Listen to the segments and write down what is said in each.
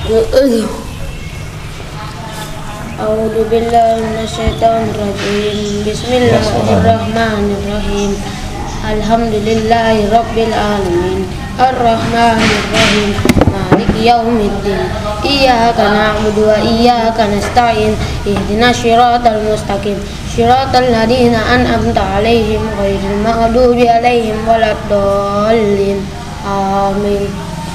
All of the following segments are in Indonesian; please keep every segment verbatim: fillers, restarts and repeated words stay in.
A'udzu billahi minasyaitonir rajim. Bismillahirrahmanirrahim. Alhamdulillahi rabbil alamin. Arrahmanir rahim. Maliki yaumiddin. Iyyaka na'budu wa iyyaka nasta'in. Ihdinas shiratal mustaqim. Shiratal ladzina an'amta 'alaihim ghairil maghdubi 'alaihim waladdallin. Amin.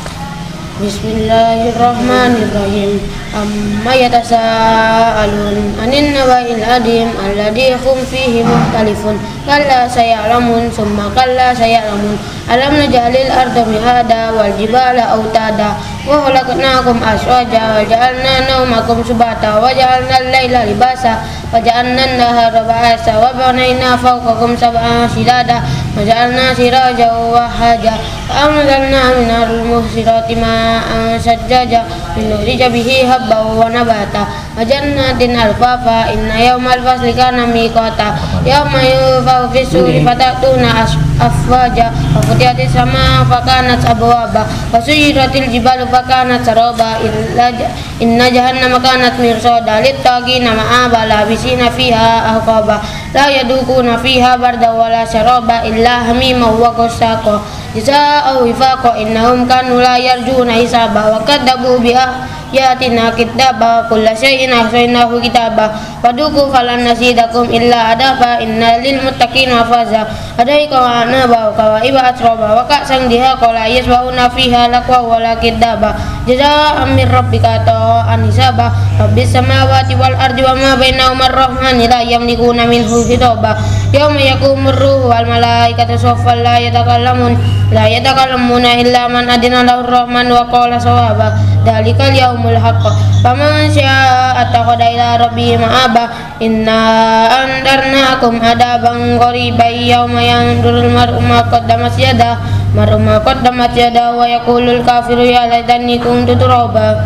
Bismillahirrahmanirrahim. Amma yatasaalun anin naba'il adim alladhi hum fihi mukhtalifun. Kalla saya'lamun summa kalla saya'lamun. Alam naj'alil arda mihada wal jibala autada wa khalaqnakum azwaja wa ja'alna nawmakum subata wa ja'alna al-laila libasa wa ja'alna an-nahara ba'asa wa banayna fawqakum sab'an shidada wa ja'alna sirajan wa haja wa anzalna minal muhsirati ma'an sajjaja linukhrija bihi habban wa nabata wa jannatin alfafa. Inna yawmal fasli kana miqata yawma yunfakhu fis-suri fatatuna afwaja wa futihatis sama fakanat abwaba wa suyiratil jibalu fakanat saraba inna jahannama kanat mirsada littaqina ma'aba labisina fiha ahqaba la yadukuna fiha barda wala syaraba illa hamima wa qasaqa jazaa'u wifaqa innahum kanu la yarjuna hisaba wa kadzabu biha yatina kitaba kulla syai'in ahsaynahu kitaba waduku falan nasidakum illa adaba inna lil muttaqina mafaza adaika wa anaba wa iba atroba wa ka'sang diha qala yasbauna fiha laqwa wala kidaba jazaa'an min rabbika ta'an hisaba rabbis samawati wal ardi wa ma bainahuma ar-rahmani la yamlikuna minhu hitaba yauma yaqumur ruhu wal malaikatu saffan la yatakallamun la yatakallamuna illa man adina lahu ar-rahman wa qala sawaba dalikal yaumul haqq faman syaa'a attakhadha ila rabbihi ma'aba inna andarnakum adaban qariban yauma yanzurul mar'u ma qaddamat yadah mar'u ma qaddamat yadah wa yaqulul kafiru ya laitani kuntu turaba.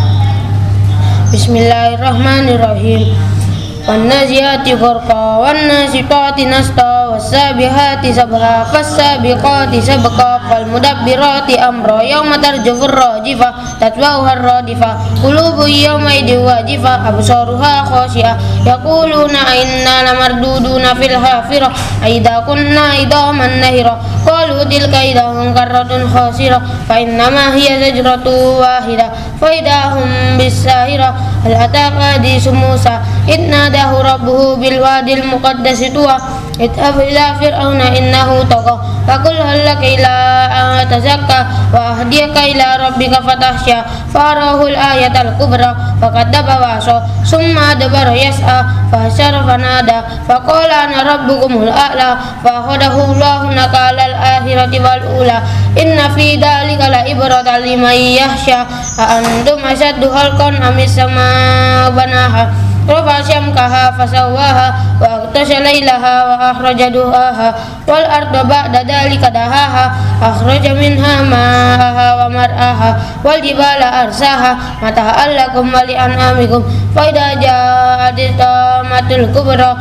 Bismillahirrahmanirrahim. Wan naziati gharqa wan nasitati nasta was-sabihati sabha fas-sabiqati sabqa fal mudabbirati amra yauma tarjufur rajifa tatba'uha ar-radifa qulubu yawma idin wajifa absaruha khashi'ah yaquluna inna lamarduduna fil hafirah aidha kunna idaman nahira qalu tilka idahum karratun khasirah fa innama hiya zajratu wahidah fa idahum bisahirah hal ataka hadisu Musa inna dahu rabbuhu bil wadil muqaddasi tuwa idhab ila fir'auna innahu tagha faqul hal laka ila an tazakka wa ahdiyaka ila rabbika fatahsya farahul ayatal kubra faqaddaba waso summa adbara yas'a fahasyara fanada faqala ana rabbukumul a'la fakhadahu Allahu nakalal akhirati wal ula inna fi dhalika la ibratan liman yakhsha a antum asaddu khalqan amis sama banaha Rafa syamkaha fasawaha wa aghtasha laylaha wa akhraja duhaha wal arda ba'da dhalika dahaha akhraja minha ma'aha wa mar'aha wal jibala arsaha mata'an lakum wa li'an'amikum fa idza ja'at tamatul kubra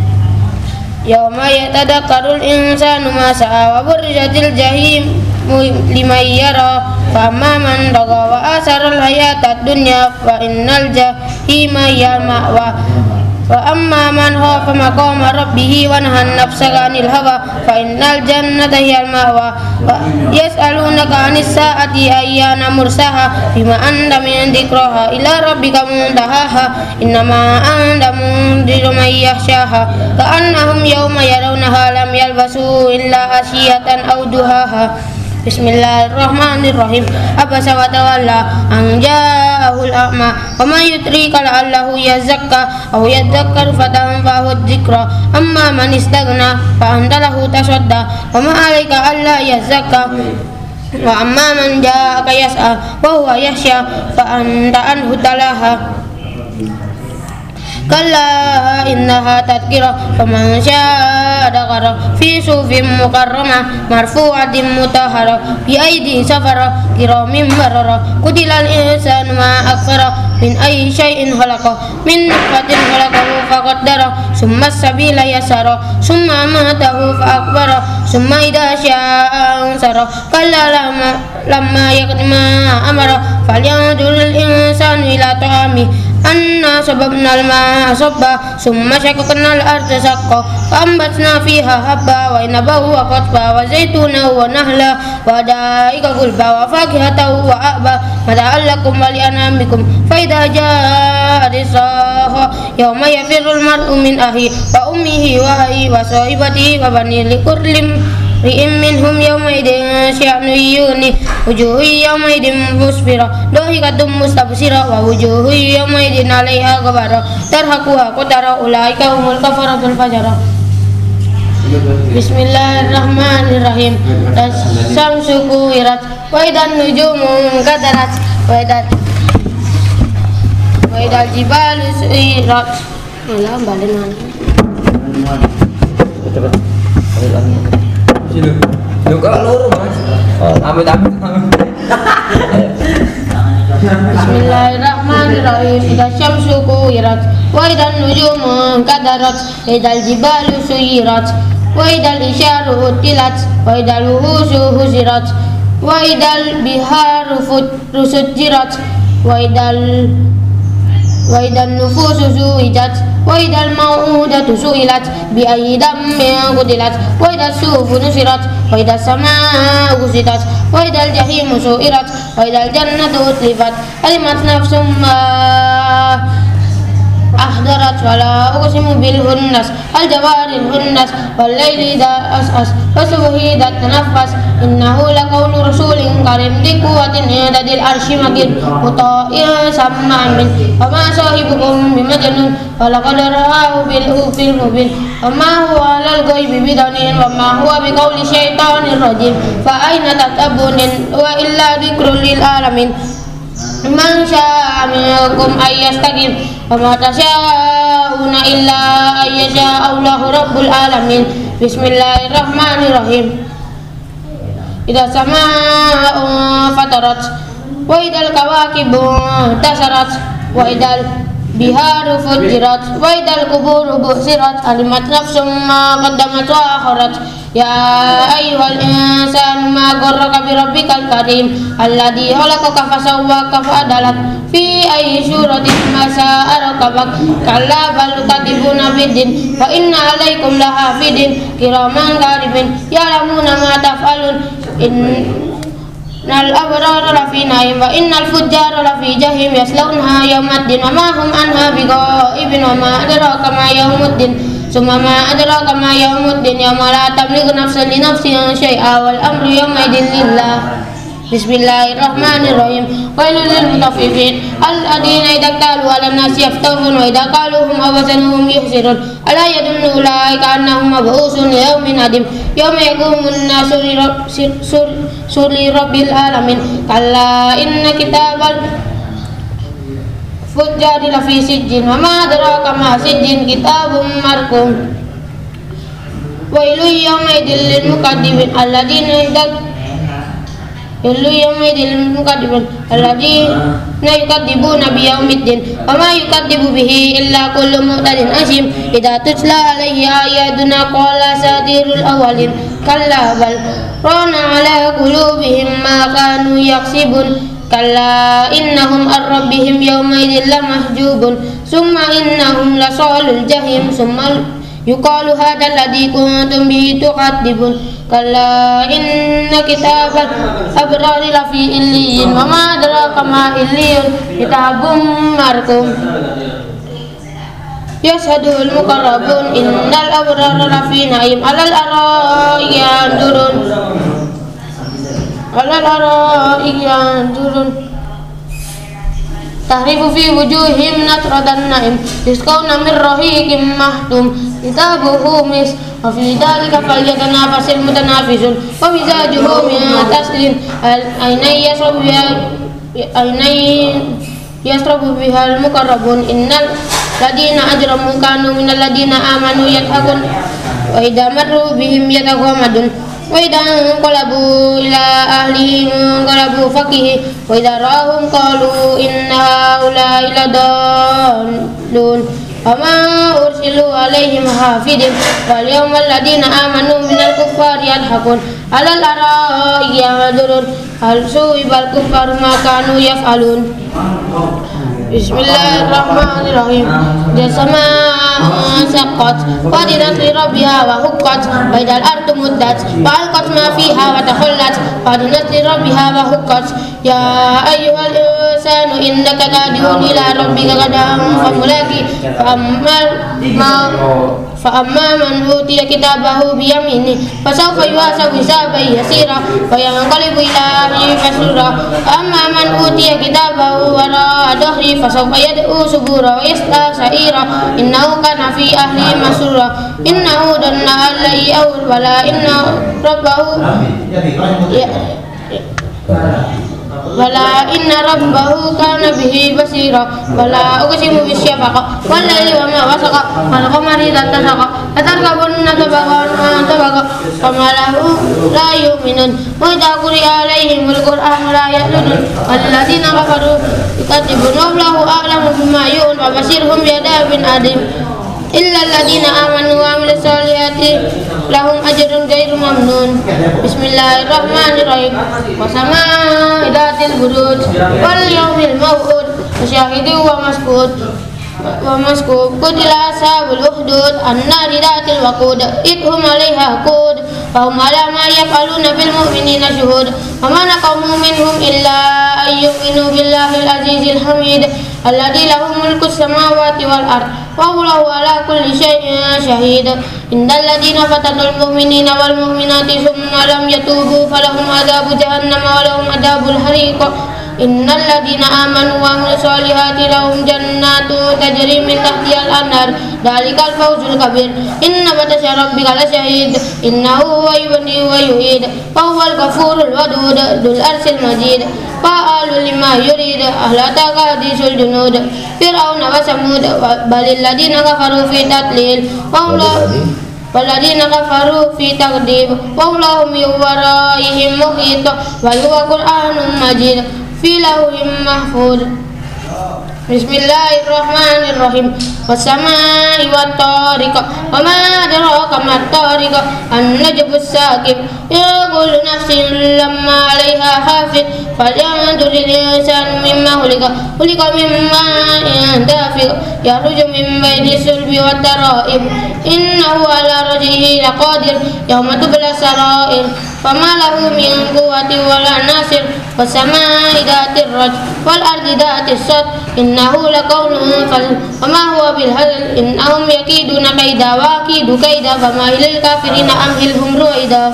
yawma yatadakkarul insanu ma sa'a wa burrijatil jahim liman yara fa amma man tagha wa asaral hayatad dunya fa innal jahima hiya ma'wa wa amma man khafa maqama rabbih wa nahan nafsa 'anil hawa fa innal jannata hiya ma'wa yas'alunaka 'anis sa'ati ayyana mursaha bima anta min dzikraha ila rabbika muntahaha innama anta mundziru man yakhshaha ka'annahum yawma yarawnaha lam yalbasu illa ashiyatan aw duhaha. Bismillahirrahmanirrahim. Abasa wa tawalla an ja'ahul a'ma wa man yudrika la'allahu yazakka aw yadhakkaru fatanfa'ahu dzikra amma man istaghna fa anta lahu tasadda wa ma 'alaika alla yazakka wa amma man ja'aka yas'a wa huwa yakhsha fa anta anhu talaha kalla innaha tadhkirah faman syaa'a dzakara fi sufin mukarramah marfu'atin mutahharah bi aidi safara kiramin barara qutilal insanu ma akfara min ayyi syai'in khalaqa min nutfatin khalaqahu faqaddara summa sabila yasara summa amatahu fa akbara summa idza syaa'a ansara kalla lamma lamma yaqdi ma amara falyanzuril الإنسان إلى طعامه أنا صببنا الماء صبا ثم شققنا الأرض شقا فأنبتنا فيها حبا وعنبا وقضبا وزيتونا ونخلا وحدائق غلبا وفاكهة وأبا متاعا لكم ولأنعامكم فإذا جاءت الصاخة يوم يفر المرء من أخيه وأمه وأبيه وصاحبته وبنيه لكل امرئ منهم يومئذ شأن يغنيه وجوه يومئذ مسفرة ضاحكة مستبشرة ووجوه يومئذ عليها غبرة ترهقها قترة أولئك هم الكفرة الفجرة. Bismillahirrahmanirrahim. Syamsu kuwirat wa idan nujumu kadarat wa idan wa idal jibalu suyirat. Malah balen Sini. Yo kok loro, Mas. Amit-amit. Bismillahirrahmanirrahim. Idza syamsu kuwirat wa idan nujumu kadarat wa idal jibalu suyirat wa idal isyaru utilat wa idal wuhusu husirat wa idal biharu fusujirat wa idal wa idan nufusu suwijat wa idal mau'udatu su'ilat bi ayyi dambin qutilat wa idal sufu nusirat wa idal samaa'u kusitat wa idal jahimu su'irat wa idal jannatu utlifat alimat nafsum ma ahdarat wala uqsimu bil hunnas al jawaril hunnas wal laili idza as'as wa subhi idza tanaffas innahu laqawlu rasulin karim di quwwatin inda arsy makin muta'in sam'an min wa ma sahibukum bimajnun wa laqad ra'ahu bil ufil mubin wa ma huwa alal ghaibi bidanin wa ma huwa biqauli syaitanir rajim fa aina tatabbunin wa illa dzikrul lil alamin man syaa minkum ayyastaqim wa ma tasyauna illa ayyasha Allahu rabbul alamin. Bismillahirrahmanirrahim. Idza samaa'u fatarat wa idal kawakibu tasarat wa idal biharu fujirat wa idal quburu busirat alimat nafsum ma qaddamat wa akharat. Ya ayyuhal insanu ma gharraka bi rabbikal karim alladzi khalaqaka fasawwaka fa'adalak fi ayyi suratin ma sha'a rakabak kalla bal tukadzibuna biddin wa inna 'alaikum lahafidin kiraman katibin ya'lamuna ma taf'alun innal abrara lafi na'im wa innal fujjara lafi jahim yaslawnaha yawmaddin wa ma hum anha bighaibin wa ma adraka ma yawmuddin summa ma adraka ma yawmuddin yawma la tamliku nafsun li nafsin syai'a wal amru yawma idin lillah. Bismillahirrahmanirrahim. Wailul lil mutaffifin alladhina idza qalu 'alan nasi yaftawun wa idza qaluhum aw wazanuhum yukhsirun ala yadunnu ulaika annahum mab'usun li yawmin adim yawma yaqumun nasu li rabbil alamin kalla inna kitabal fujjari lafi sijjin wa ma adraka ma sijjin kitabun marqum wailul yawma idil lil mukaddibin alladhina idza Ilu yawmaidil mukadzibun alladzina yukadzibuna biyaumiddin wa ma yukadzibu bihi illa kullu mu'tadin asim idza tutla alaihi ayatuna qala satirul awwalin kalla bal rana ala qulubihim ma kanu yaksibun kalla innahum ar rabbihim yawmaidil lamahjubun summa innahum lasalul jahim summa yuqalu hadzal ladzi kuntum bihi tukadzibun kalla inna kitabal abrari lafi illiyin wa ma adraka ma illiyun kitabun marqum yashhadul muqarrabun innal abrara lafi na'im alal ara'iki yanzurun alal ara'iki yanzurun tahrifu fi wujuhim natradan na'im yusqawna min rahiqin mahtum kitabuhu mis wa fi dhalika falyatanafasil mutanafisun wa mizajuhu min taslin aynay yashrabu biha aynay yashrabu biha al-muqarrabun innal ladina ajramu kanu minal ladina amanu yadhakun wa idza marru bihim yataghamadun wa idza qalabu ila ahlihim qalabu fakihi wa idza ra'ahum qalu inna haula'i ladallun وما أرسلوا عليهم حافظين واليوم الذين آمنوا من الكفار يضحكون على الأرائك ينظرون هل ثوب الكفار ما كانوا يفعلون. Bismillahirrahmanirrahim. Jasama saqat qadirat li rabbiha wa huqqat baidal ardu muddat wa alqat ma fiha wa takhallat qadirat li rabbiha wa huqqat ya ayyuhal insanu innaka kadihun ila rabbika kadhan famulaki fa ammal ma fa amma man utiya kitabahu bi yamini fa sawfa yuhasabu hisaban yasira wa yanqalibu ila ahlihi masrura amma man utiya kitabahu wara dhahri fa sawfa yad'u subura wa yasla sa'ira innahu kana fi ahlihi masrura innahu dhanna an la ya'ur wala inna rabbahu ya wala inna rabbahu kana bihi basira wala uqsimu bisyafaq wal laili wa ma wasaqa wal qamari idza tasaqa atarkabunna tabaqan tabaqa fama lahu la yu'minun wa idza quri'a alaihimul qur'anu la ya'lamun alladziina kafaru yukadzibuna wallahu a'lamu bima yu'un wa basyirhum bi'adzabin adim illa alladziina amanu wa 'amilus solihati lahum ajrun ghairu mamnun. Bismillahirrahmanirrahim. Wasama idatil buruj wal yawmil maw'ud wasyahidin wa masqud wa masqud qutila ashabul ukhdud annari datil waqud idhum 'alaiha qud wa hum 'ala ma yaf'aluna bil mu'minina syuhud wa ma naqamu minhum illa ayyuminu billahil azizil hamid alladzi lahu mulkus samawati wal ard wa huwa ala kulli syai'in syahid. Innal ladzina fatanul mu'minina wal mu'minati tsumma lam yatubu falahum adzabu jahannam wa lahum adzabul hariq. Innal ladzina amanu wa 'amilus solihati lahum jannatu tajri min tahtihal anhar dzalikal fawzul kabir. Inna batasya rabbika lasyadid innahu huwa yubdi wa yu'id wa huwal ghafurul wadud dzul arsyil majid fa'alul lima yurid ahlataka hadisul junud fir'auna wa samud balil ladzina kafaru fi tadlil wa waladina kafaru fi taqdib wa lahum yuwaraihim muhit wa huwa qur'anun majid fi lauhim mahfuz. Bismillahirrahmanirrahim. Wassamaa'i wat-tariq wa ma adraka mat-tariq an-najmus saqib yaqulu nafsin lamma 'alaiha hafiz falyanzuril insanu mimma khuliqa khuliqa mimma dafiq yakhruju min bayni sulbi wat-tara'ib innahu 'ala raj'ihi laqadir yawma tubla sarair fama lahu min quwwatin wala nasir wassamaa'i dhatir raj wal ardi dhatis sad innahu laqawlun fasl wama huwa bil hazl innahum yakiduna kaida wa akidu kaida famahilil kafirina amhilhum ruwaida.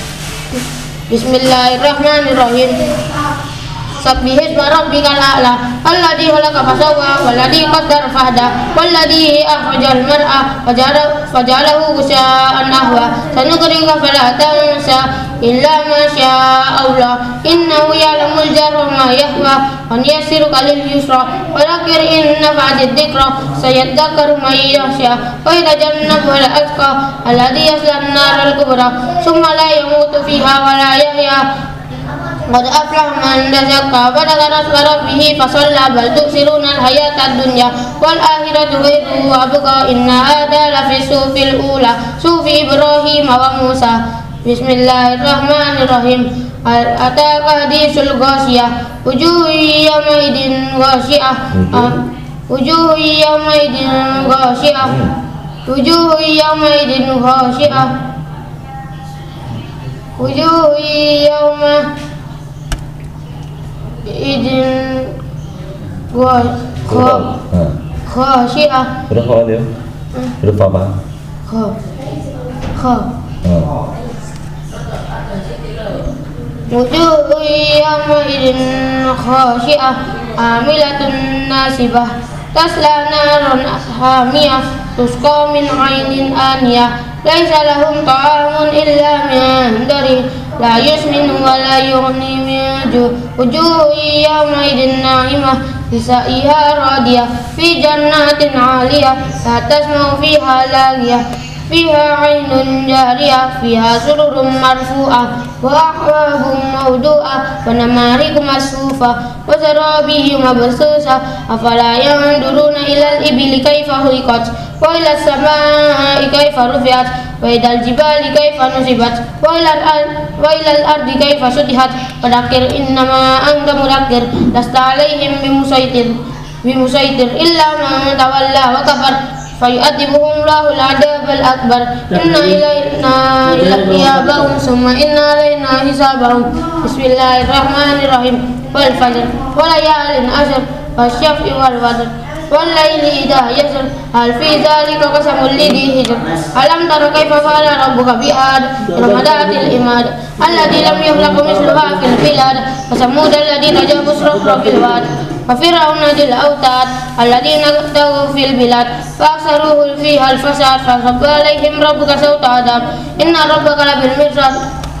Bismillahirrahmanirrahim. Sabbihisma rabbikal a'la alladzi khalaqa fasawwa walladzi qaddara fahda walladzi akhrajal mar'a fajalahu ghusaan ahwa sanuqrika fala tansa illa ma syaa Allah innahu ya'lamul jarra ma yahwa wa yassiruka lil yusra wa dzakir inna ba'da dzikra sayadzakkaru man yakhsha wa yatajannabu al atqa alladzi yasla an-naral kubra thumma la yamutu fiha wa la yahya qad aflaha man tazakka wa dzakara isma rabbih fasalla bal tu'siruna al-hayata ad-dunya wal akhiratu khairu wa abqa inna hadha la fi sufil ula sufi Ibrahim wa Musa. Bismillahirrahmanirrahim. Ataka hadisul ghasyiyah wujuhun yawmaidin ghasyiyah wujuhun yawmaidin ghasyiyah wujuhun yawmaidin ghasyiyah wujuhun yawma idin gua kha khasyiah. Huruf apa dia? Huruf apa? Kha kha wujuhun yawma idin khasyiah amilatun nasibah tasla naran hamiyah tusqa min 'ainin aniyah laisa lahum ta'amun illa min dari la yusminu wa la yughni min ju' wujuhun yawma idin na'imah lisa'iha radiyah fi jannatin 'aliyah la tasma'u fiha laghiyah فيها عين جارية فيها سرر مرفوعة وأكواب موضوعة ونمارق مصفوفة وزرابي مبثوثة أفلا ينظرون إلى الإبل كيف خلقت وإلى السماء كيف رفعت وإلى الجبال كيف نصبت وإلى الأرض, وإلى الأرض كيف سطحت فذكر إنما أنت مذكر لست عليهم بمسيطر بمسيطر إلا من تولى وكفر فيؤدبه الله العذاب الأكبر إن إلينا إيابهم ثم إن علينا حسابهم بسم الله الرحمن الرحيم والفجر وليال عشر والشفع والوتر والليل إذا يسر هل في ذلك قسم لذي حجر ألم تر كيف فعل ربك بعاد إرم ذات العماد التي لم يخلق مثلها في البلاد وثمود الذين جابوا الصخر بالواد وفرعون ذي الأوتاد الذين طغوا في البلاد فأكثروا فيها الفساد فصب عليهم ربك سوط عذاب إن ربك لبالمرصاد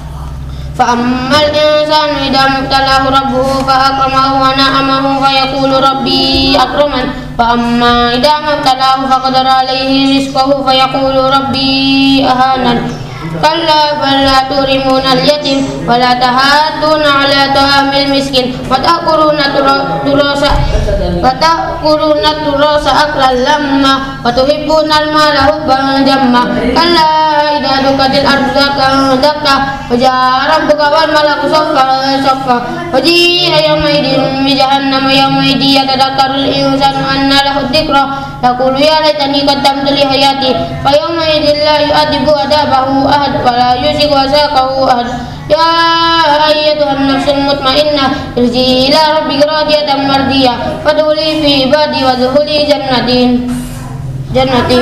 فأما الإنسان إذا ما ابتلاه ربه فأكرمه ونعمه فيقول ربي أكرمن وأما إذا ما ابتلاه فقدر عليه رزقه فيقول ربي أهانن كلا بل لا تكرمون اليتيم ولا تحاضون على طعام المسكين وتأكلون التراث وتأكلون التراث أكلا لما وتحبون المال حبا جما كلا إذا دكت الأرض دكا دكا وجاء ربك والملك صفا صفا وجيء يومئذ بجهنم يومئذ يتذكر الإنسان أنى له الذكرى يقول يا ليتني قدمت لحياتي فيومئذ لا يؤدب عذابه أحد ولا يوشك وثاقه أحد يا أيتها النفس المطمئنة ارجعي إلى ربك راضية مرضية فادخلي في عبادي وادخلي جنتي جنتي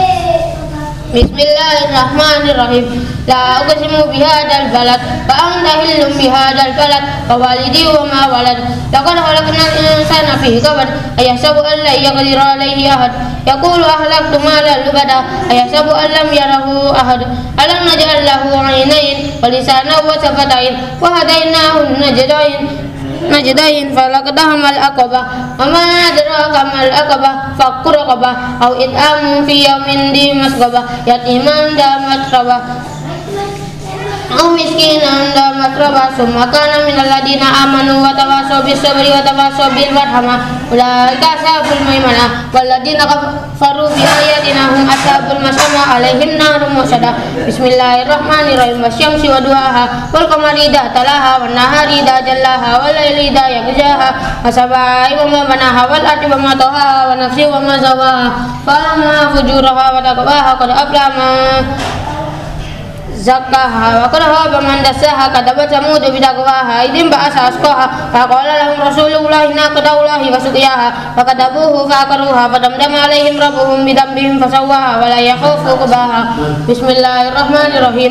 بسم الله الرحمن الرحيم لا أقسم بهذا البلد فأنت حل بهذا البلد ووالدي وما ولد لقد خلقنا الإنسان في كبد أيحسب أن لن يقدر عليه أحد يقول أهلكت مالا لبدا أيحسب أن لم يره أحد ألم نجعل له عينين ولسانا وشفتين وهديناه النجدين نجدين فلقدهم العقبة وما أدراك ما العقبة فك رقبة أو إطعام في يوم ذي مسغبة يتيما ذا متربة أو مسكينا ذا متربة ثم كان من الذين آمنوا وتواصوا بالصبر وتواصوا بالمرحمة أولئك أصحاب الميمنة والذين كفروا بآياتنا هم أصحاب المشأمة عليهم نار مؤصدة بسم الله الرحمن الرحيم والشمس وضحاها والقمر إذا تلاها والنهار إذا جلاها والليل إذا يغشاها والسماء وما بناها والأرض وما طحاها ونفس وما سواها فألهمها فجورها وتقواها قد أفلح من زكاها وقد خاب من دساها كذبت ثمود بتقواها إذ انبعث أشقاها فقال لهم رسول الله ناقة الله وسقياها فكذبوه فعقروها فدمدم عليهم ربهم بذنبهم فسواها ولا يخاف عقباها بسم الله الرحمن الرحيم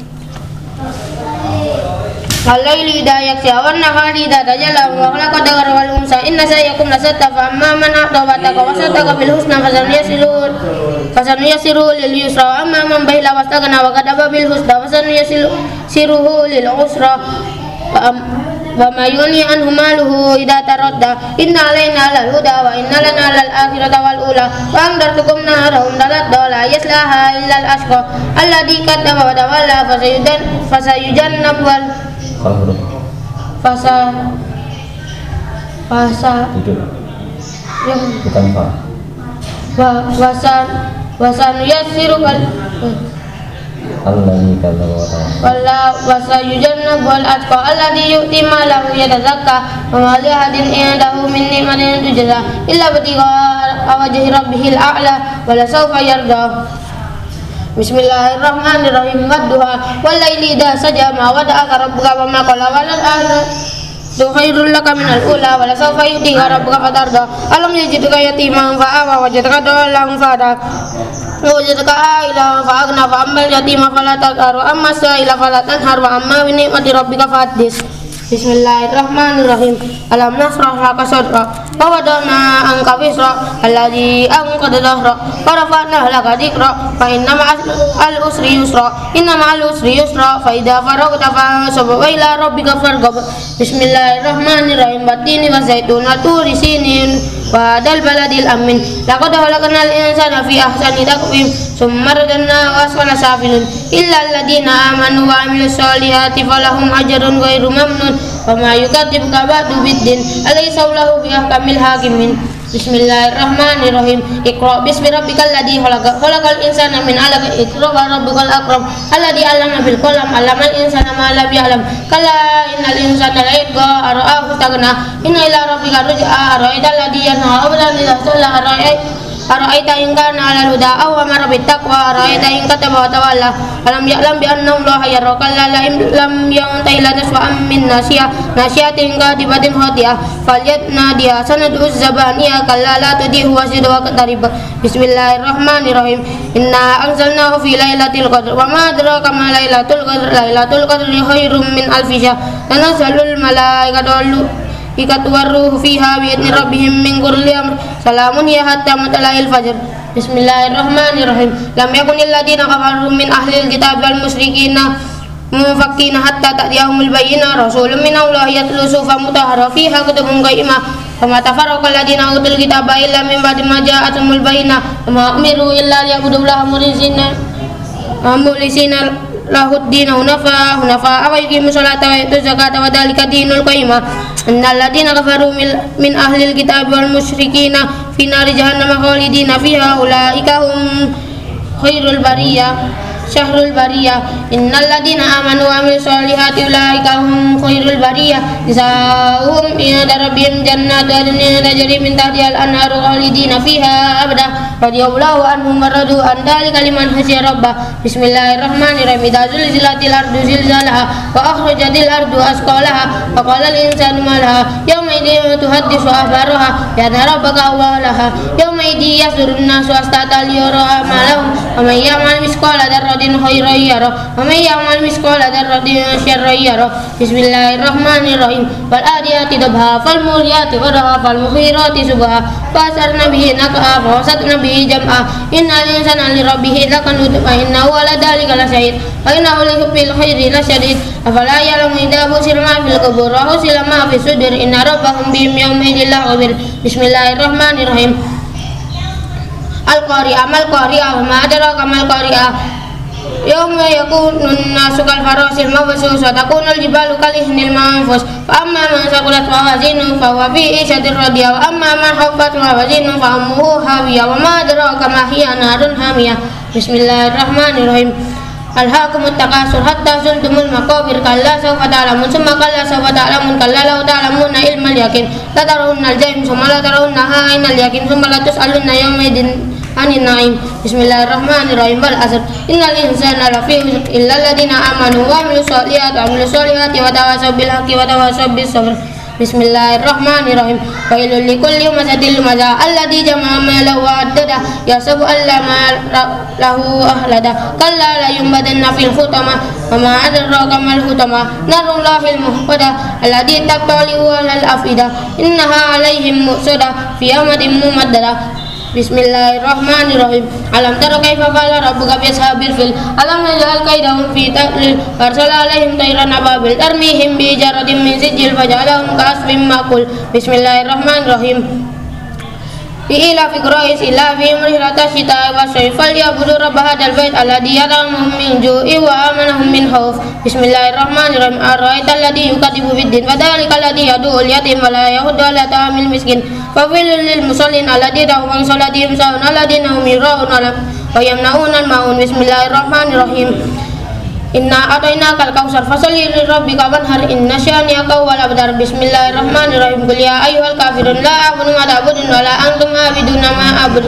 الليل إذا يغشى والنهار إذا تجلى وخلق الذكر والأنثى إن سعيكم لشتى فأما من أعطى واتقى وصدق بالحسنى فسنيسره فسنيسره لليسرى وأما من بخل واستغنى وكذب بالحسنى فسنيسره للعسرى فما يغني عنه ماله إذا تردى إن علينا للهدى وإن لنا للآخرة والأولى وأنذرتكم نارا تلظى لا يصلاها إلا الأشقى الذي كذب وتولى فسيجنب fasa fasa yang bukan fa wasan wasan yasiru kal Allahi kalla wala wasayujannabu al atqa alladhi yu'ti malahu yatazakka wa ma li ahadin indahu min ni'matin tujza illa batigha wajhi rabbihil a'la wa la sawfa yarda Bismillahirrahmanirrahim wadduha wallaili idza saja ma wada'aka rabbuka wa ma qala walal akhiratu khairul laka minal ula wa la sawfa yu'tika rabbuka fatarda alam yajidka yatiman fa'awa wajadka dhalan fahada wajadka a'ilan fa'aghna fa ammal yatima fala taqhar wa amma sa'ila fala tanhar wa amma bi ni'mati rabbika fahaddits Bismillahirrahmanirrahim alam nasrah laka sadrak wa wada'na anka wisrak alladzi anqadha dhahrak wa rafa'na laka dhikrak fa inna ma'al usri yusra inna ma'al usri yusra fa idza faraghta fansab wa ila rabbika farghab Bismillahirrahmanirrahim batini wa zaitun wa turi sinin وهذا البلد الأمين لقد خلقنا الإنسان في أحسن تقويم ثم رددناه أسفل سافلين إلا الذين آمنوا وعملوا الصالحات فلهم أجر غير ممنون وما يكذبك بعد بالدين أليس الله بأحكم الحاكمين Bismillahirrahmanirrahim. Iqra bismi rabbikal ladzi khalaq. Khalaqal insana min 'alaq. Iqra wa rabbukal akram. Alladzi 'allama bil qalam. 'Allamal insana ma lam ya'lam. Kalla innal insana la yatgha ara'ahu istaghna. Inna ila rabbika ruj'a. Ara'aital ladzi yanha 'abdan idza salla ara'aita in kana 'alal huda aw amara bit taqwa. Ara'aita in kataba wa tawalla. Alam ya'lam bi anna Allaha yara. Kalla la lam yantahi la taswa'an min nasiyah. Nasiyatin qadibatin khati'ah. Falyatnadiya sanadu zabaniya. Kalla la tudihu wasid wa qatarib. Bismillahirrahmanirrahim. Inna anzalnahu fi lailatul qadr wa ma adraka ma lailatul qadr. Lailatul qadri khairum min alfi syahr. Tanazzalul malaikatu ikatu waruhu fiha bi idzni rabbihim min kulli amr. Salamun ya hatta matla'il fajr. Bismillahirrahmanirrahim. Lam yakunil ladina kafaru min ahlil kitab wal musyrikina mufakkina hatta ta'tiyahumul bayyinah. Rasulun min Allah yatlu suhufan mutahhara fiha kutubun qayyimah. Fama tafarraqa alladina utul kitaba illa min ba'di ma ja'atuhumul bayyinah. Wa ma umiru illa liya'budullaha mukhlisina mukhlisina lahuddin hunafa hunafa wa yuqimu sholata wa yutu zakata wa dzalika dinul qayyimah. Innal ladina kafaru min ahlil kitab wal musyrikina fi nari jahannam khalidina fiha ulaika hum khairul bariyah syahrul bariyah. Innal ladina amanu wa amilus solihati ulaika hum khairul bariyah jazaohum inda rabbihim jannatu adnin tajri min tahtiha al-anharu khalidina fiha abada radhiyallahu anhum wa radu an dzalika liman khashiya rabbah. Bismillahirrahmanirrahim. Idza zulzilatil ardu zilzalaha wa akhrajatil ardu asqalaha wa qala al-insanu ma laha yawma idzin tuhaddisu akhbaraha bi anna rabbaka awwalaha yawma idzin yasdurun nasu astata liyara amalahum wa man ya'mal misqala dzarratin khairan yarah wa man ya'mal misqala dzarratin syarran yarah. Bismillahirrahmanirrahim. Wal adiyati dabha fal muriyati qadha fal mughirati subha fasarna bihi naqa fasatna bihi jam'a. Innal insana li rabbih lakanud fa innahu ala dzalika lasyahid wa innahu lihubbil khairi lasyadid. Afala ya'lamu idza busira ma fil qubur wa husila ma fis sudur inna rabbahum bihim yawma idzin lakhabir. Bismillahirrahmanirrahim. Al-Qari'ah mal-Qari'ah wa ma adraka mal-Qari'ah. Yawma yakunun nasu kal farasil mabsus wa takunul jibalu kal ihnil manfus. Fa amma man saqulat mawazinuhu fa huwa fi 'ishatin radiyah wa amma man khaffat mawazinuhu fa ummuhu hawiyah wa ma adraka ma hiya narun hamiyah. Bismillahirrahmanirrahim. Alhaakumut takasur hatta zurtumul maqabir kalla sawfa ta'lamun summa kalla sawfa ta'lamun kalla law ta'lamuna ilmal yaqin la tarawunnal jahim summa la tarawunnaha 'ainal yaqin summa la tus'alunna yawma idin anin na'im. Bismillahirrahmanirrahim. Wal 'asr innal insana lafi khusr illa alladhina amanu wa 'amilus solihati wa 'amilus solihati wa tawasaw bil haqqi wa tawasaw bis sabr. Bismillahirrahmanirrahim. Wailul likulli humazatil lumaza alladzi jama'a malahu wa addada yahsabu an lahu ahlada kalla la yunbadanna fil hutama wa ma adraka mal hutama narullahil muhqada alladzi tattali'u 'alal afida innaha 'alaihim mu'sada fi yawmin mumaddada. Bismillahirrahmanirrahim. Alam tara kaifa fa'ala rabbuka bi ashabil fil alam naj'al kaidahum fi tadlil farsala alaihim tayran ababil tarmihim bi jaradim min sijil faj'alahum ka'asfin ma'kul. Bismillahirrahmanirrahim. Ila fi quraish ila fi rihlata syita wa sayfal yabudu rabb hadzal bait alladzi yaramhum min ju'i wa amanahum min khauf. Bismillahirrahmanirrahim. Ara'aital ladzi yukadzibu bid-din wa dzalikal ladzi yad'ul yatim wa la yahuddu 'ala ta'amil miskin. Fawilul lil musallin alladzina hum an salatihim sahun alladzina hum yura'un wa yamna'una al-ma'un. Bismillahirrahmanirrahim. Inna atainakal kautsar fasalli li rabbika wanhar inna syani'aka wal abtar. Bismillahirrahmanirrahim. Qul ya ayyuhal kafirun la a'budu ma ta'budun wa la antum a'buduna ma a'budu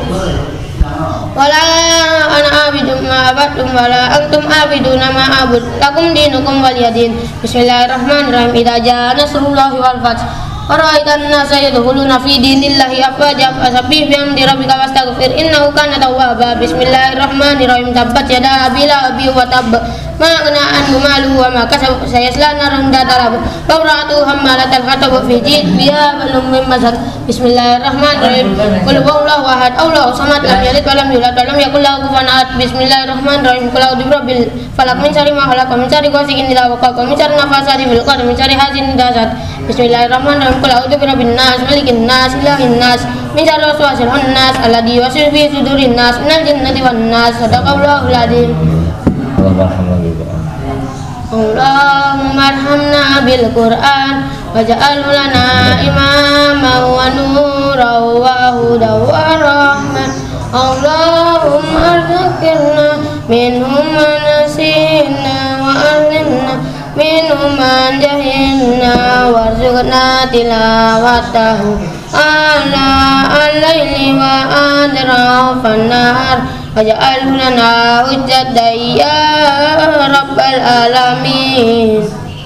wa la ana a'budu ma abadtum wa la antum a'buduna ma a'budu lakum dinukum waliyadin. Bismillahirrahmanirrahim. Idza jaa nasrullahi wal fath Ara'aitan nasa yadkhuluna fi dinillahi afwaja fasabbih bihamdi rabbika wastaghfir innahu kana tawwaba. Bismillahirrahmanirrahim. Tabbat yada abi lahabin wa tabb ma aghna anhu maluhu wa ma kasab sayasla naran dzata lahab wa imra'atuhu hammalatal hatab fi jidha balum mim masad. Bismillahirrahmanirrahim. Qul huwallahu ahad Allahu samad lam yalid wa lam yulad wa lam yakul lahu kufuwan ahad. Bismillahirrahmanirrahim. Qul a'udzu birabbil falaq min syarri ma khalaq min syarri ghasiqin idza waqab min syarri nafasati fil 'uqad min syarri hasidin idza hasad. Bismillahirrahmanirrahim. Qul a'udzu birabbin nas malikin nas ilahin nas min syarri waswasil khannas alladzi yuwaswisu fi sudurin nas minal jinnati wan nas. Shadaqallahul adzim. Allahumma arhamna bil Qur'an. Allahumma arhamna bil Qur'an waj'alhu lana imaman wa nuran wa hudan wa rahmah. Allahumma arzuqna minhum ma nasina wa alimna minhum ma jahilna warzuqna tilawatahu ala al-laili wa adrafan nahar waj'alhu lana hujjatan ya rabbal alamin.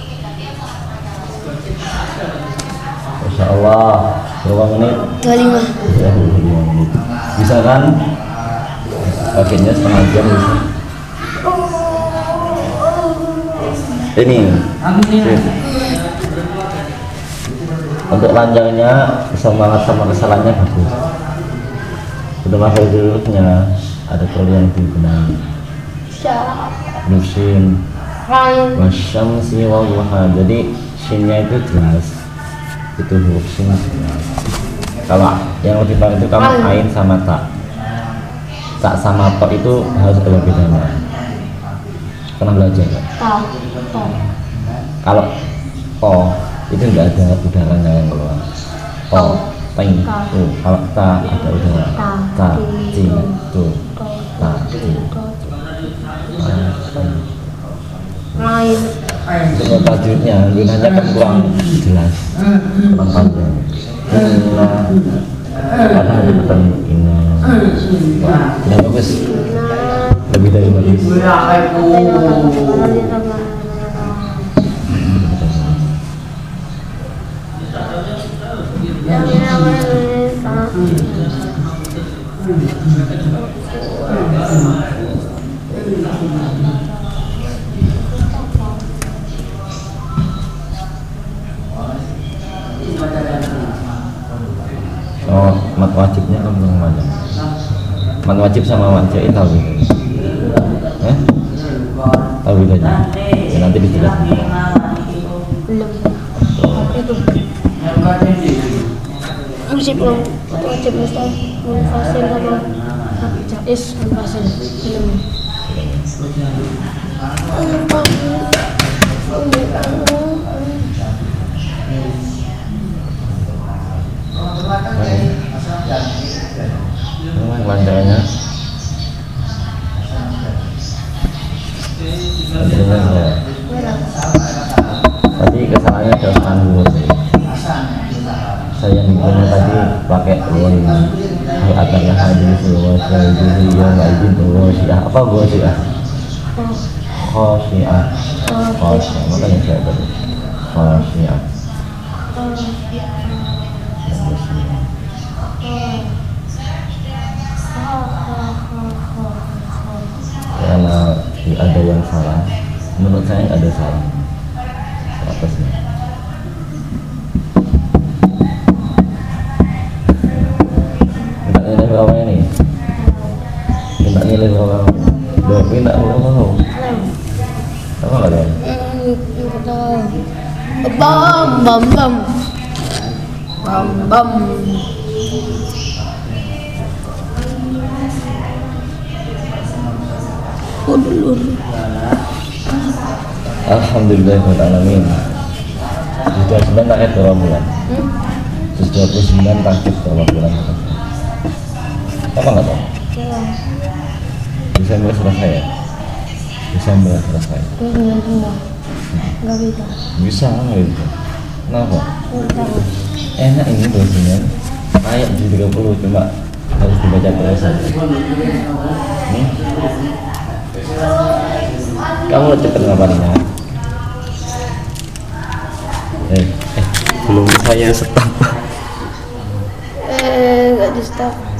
Masya Allah, berapa menit? dua puluh lima. Ya, dua puluh lima menit. Bisa kan? Pakainya setengah jam bisa. Ini sip. Untuk lanjangnya semangat sama kesalahannya bagus. Sudah pakai hurufnya, ada perlu yang dibenahi. Nusin wasyamsi wa duha. Jadi sinnya itu jelas, itu huruf sin jelas. Kalau yang lebih baik itu kamu ain sama tak, tak sama to itu harus ada bedanya. Pernah belajar nggak? Kalau to itu enggak ada udaranya yang keluar. To, ting, tu. Kalau ta ada udara. Ta, ti, tu. Ta, ti. Main. Untuk tajwidnya, gunanya kan kurang jelas, kurang panjang. Inna, karena bukan inna. Tidak bagus. Lebih dari bagus. Oh, mat wajibnya kamu yang mana? Mat wajib sama mat jain tahu gitu? Eh? Tahu bedanya? Ya, nanti dijelaskan. Belum. Itu. Wajib belum. Wajib mustahil munfasil sama jaiz munfasil. Belum. Memang lancarnya lancarnya tadi kesalahannya jauhkan dulu saya yang digunakan tadi pakai woi agarnya hadis woi jadi yang nggak izin woi syiah apa woi syiah khosyiah khosyiah makanya saya tadi khosyiah karena ada yang salah, menurut saya ada salah atasnya. Minta nilai berapa ini? Minta nilai berapa? Dua minta berapa? Apa nggak ada? Bam bam bam bam bam. Alhamdulillahirrahmanirrahim. Sudah sembilan ayat berapa bulan? Terus dua puluh sembilan takjub berapa bulan? Apa nggak tahu? Desember selesai ya? Desember selesai. Nggak bisa. Bisa nggak bisa? Kenapa? Enak ini dosanya. Ayat di tiga puluh cuma harus dibaca terus saja. Nih. Kamu cepet ngapainnya? Eh, eh, belum saya stop. Eh, nggak di stop.